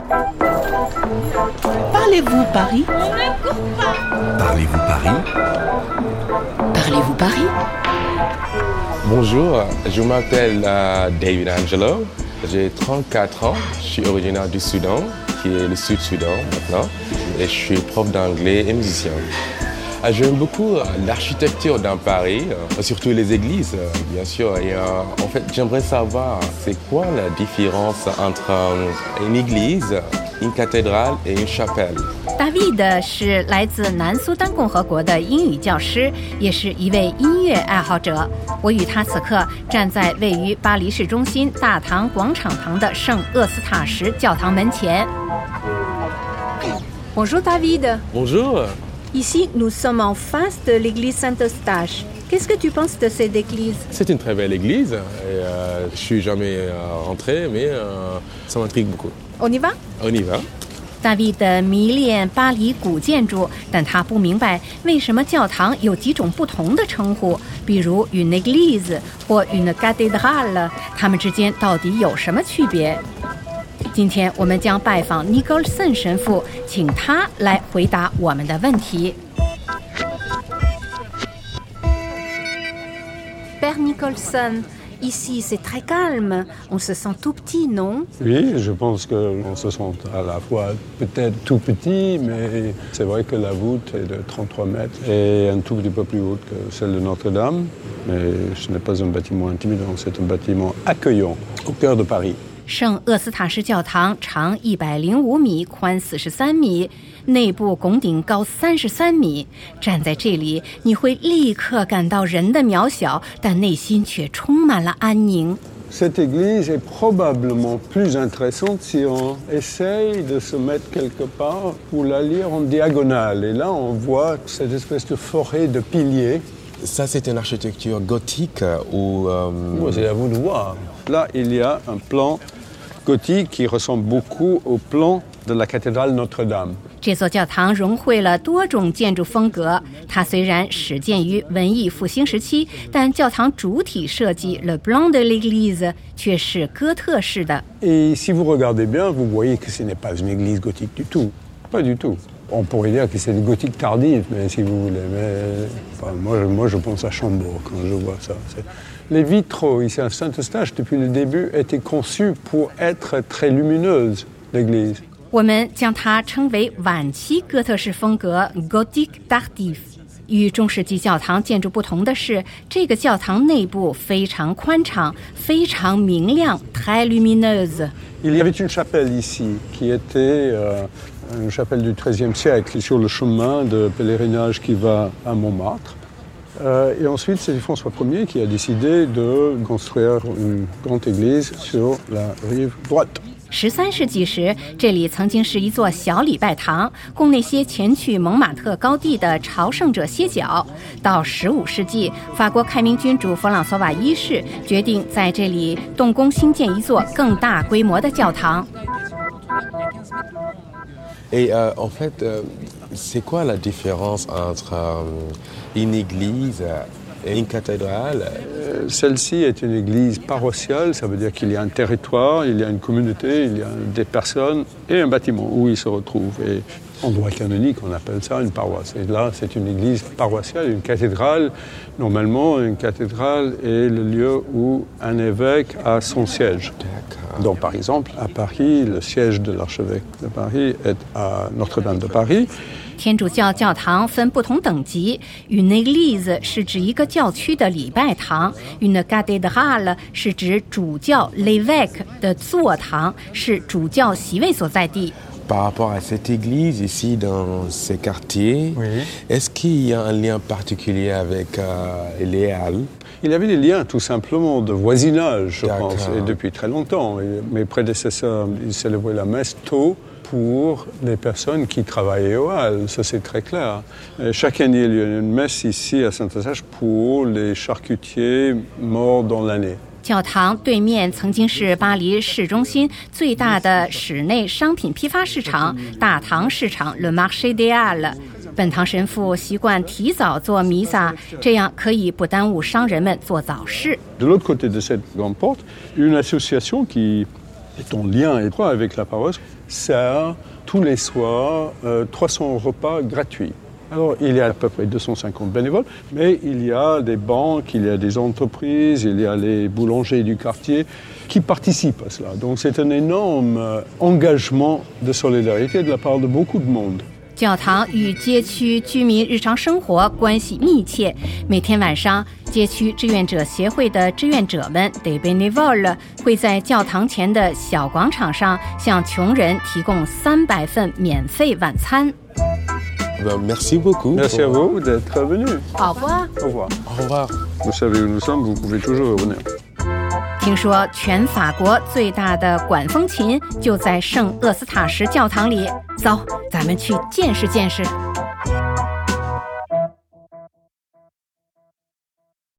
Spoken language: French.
Parlez-vous Paris? On ne court pas. Parlez-vous Paris? Parlez-vous Paris? Bonjour, je m'appelle David Angelo, j'ai 34 ans, je suis originaire du Soudan, qui est le Sud-Soudan maintenant, et je suis prof d'anglais et musicien. J'aime beaucoup l'architecture dans Paris, surtout les églises, bien sûr. Et en fait, j'aimerais savoir, c'est quoi la différence entre une église, une cathédrale et une chapelle? David 是来自南苏丹共和国的英语教师，也是一位音乐爱好者。我与他此刻站在位于巴黎市中心大堂广场旁的圣厄斯塔什教堂门前。 Bonjour David. Bonjour. Ici, nous sommes en face de l'église Saint-Eustache. Qu'est-ce que tu penses de cette église? C'est une très belle église, et je suis jamais rentré, mais ça m'intrigue beaucoup. On y va? On y va. David 迷恋巴黎古建筑，但他不明白为什么教堂有几种不同的称呼，比如 une église 或 une cathédrale， 它们之间到底有什么区别？今天我们将拜访 Nicholson 神父，请他来回答我们的问题。 Père Nicholson.Ici, c'est très calme. On se sent tout petit, non? Oui, je pense qu'on se sent à la fois peut-être tout petit, mais c'est vrai que la voûte est de 33 mètres et un tout petit peu plus haute que celle de Notre-Dame. Mais ce n'est pas un bâtiment intimidant, c'est un bâtiment accueillant au cœur de Paris. 圣厄斯塔什教堂长105米，宽43米，内部拱顶高33米。站在这里，你会立刻感到人的渺小，但内心却充满了安宁。 Cette église est probablement plus intéressante si on essaye de se mettre quelque part pour la lire en diagonale. Et là, on voit cette espèce de forêt de piliers. Ça, c'est une architecture gothique ou... C'est à vous de voir. Là, il y a un plan gothique qui ressemble beaucoup au plan de la cathédrale Notre-Dame. 这座教堂融汇了多种建筑风格，它虽然始建于文艺复兴时期，但教堂主体设计 Le Plan de l'Église 却是哥特式的。 Et si vous regardez bien, vous voyez que ce n'est pas une église gothique du tout. Pas du tout. On pourrait dire que c'est une gothique tardive, mais si vous voulez. Mais, enfin, moi, je pense à Chambord quand je vois ça. Les vitraux ici à Saint-Eustache, depuis le début, étaient conçus pour être très lumineuses, l'église. 我们将它称为晚期哥特式风格 Gothic Tardif。与中世纪教堂建筑不同的是，这个教堂内部非常宽敞，非常明亮 très lumineuse。 Il y avait une chapelle ici qui était une chapelle du XIIIe siècle sur le chemin de pèlerinage qui va à Montmartre. Et ensuite, c'est François Ier qui a décidé de construire une grande église sur la rive droite. 13世纪时，这里曾经是一座小礼拜堂，供那些前去蒙马特高地的朝圣者歇脚。到15世纪，法国开明君主弗朗索瓦一世决定在这里动工兴建一座更大规模的教堂。 Et en fait, c'est quoi la différence entre une église et une cathédrale? Celle-ci est une église paroissiale, ça veut dire qu'il y a un territoire, il y a une communauté, il y a des personnes et un bâtiment où ils se retrouvent. Et en droit canonique, on appelle ça une paroisse. Et là, c'est une église paroissiale, une cathédrale. Normalement, une cathédrale est le lieu où un évêque a son siège. Donc, par exemple, à Paris, le siège de l'archevêque de Paris est à Notre-Dame de Paris. 天主教教堂分不同等级 ，une église 是指一个教区的礼拜堂 ，une cathédrale 是指主教 l'évêque 的座堂，是主教席位所在地。 Par rapport à cette église ici dans ces quartiers, oui. Est-ce qu'il y a un lien particulier avec les Halles? Il y avait des liens tout simplement de voisinage, je pense, et depuis très longtemps. Et mes prédécesseurs, ils célébraient la messe tôt pour les personnes qui travaillaient aux Halles, ça c'est très clair. Et chaque année, il y a une messe ici à Saint-Eustache pour les charcutiers morts dans l'année. 教堂对面曾经是巴黎市中心最大的室内商品批发市场大堂市场 Le Marché des Halles。本堂神父习惯提早做弥撒，这样可以不耽误商人们做早市。 De l'autre côté de cette grande porte, une association qui Et ton lien étroit avec la paroisse sert tous les soirs 300 repas gratuits. Alors, il y a à peu près 250 bénévoles, mais il y a des banques, il y a des entreprises, il y a les boulangers du quartier qui participent à cela. Donc, c'est un énorme engagement de solidarité de la part de beaucoup de monde. 教堂与街区居民日常生活关系密切，每天晚上，街区志愿者协会的志愿者们 des bénévoles 会在教堂前的小广场上向穷人提供300份免费晚餐。 Merci beaucoup. Merci à vous d'être venus. Au revoir. Au revoir. Au revoir. Vous savez où nous sommes, vous pouvez toujours revenir. 听说全法国最大的管风琴就在圣厄斯塔什教堂里，走，咱们去见识见识。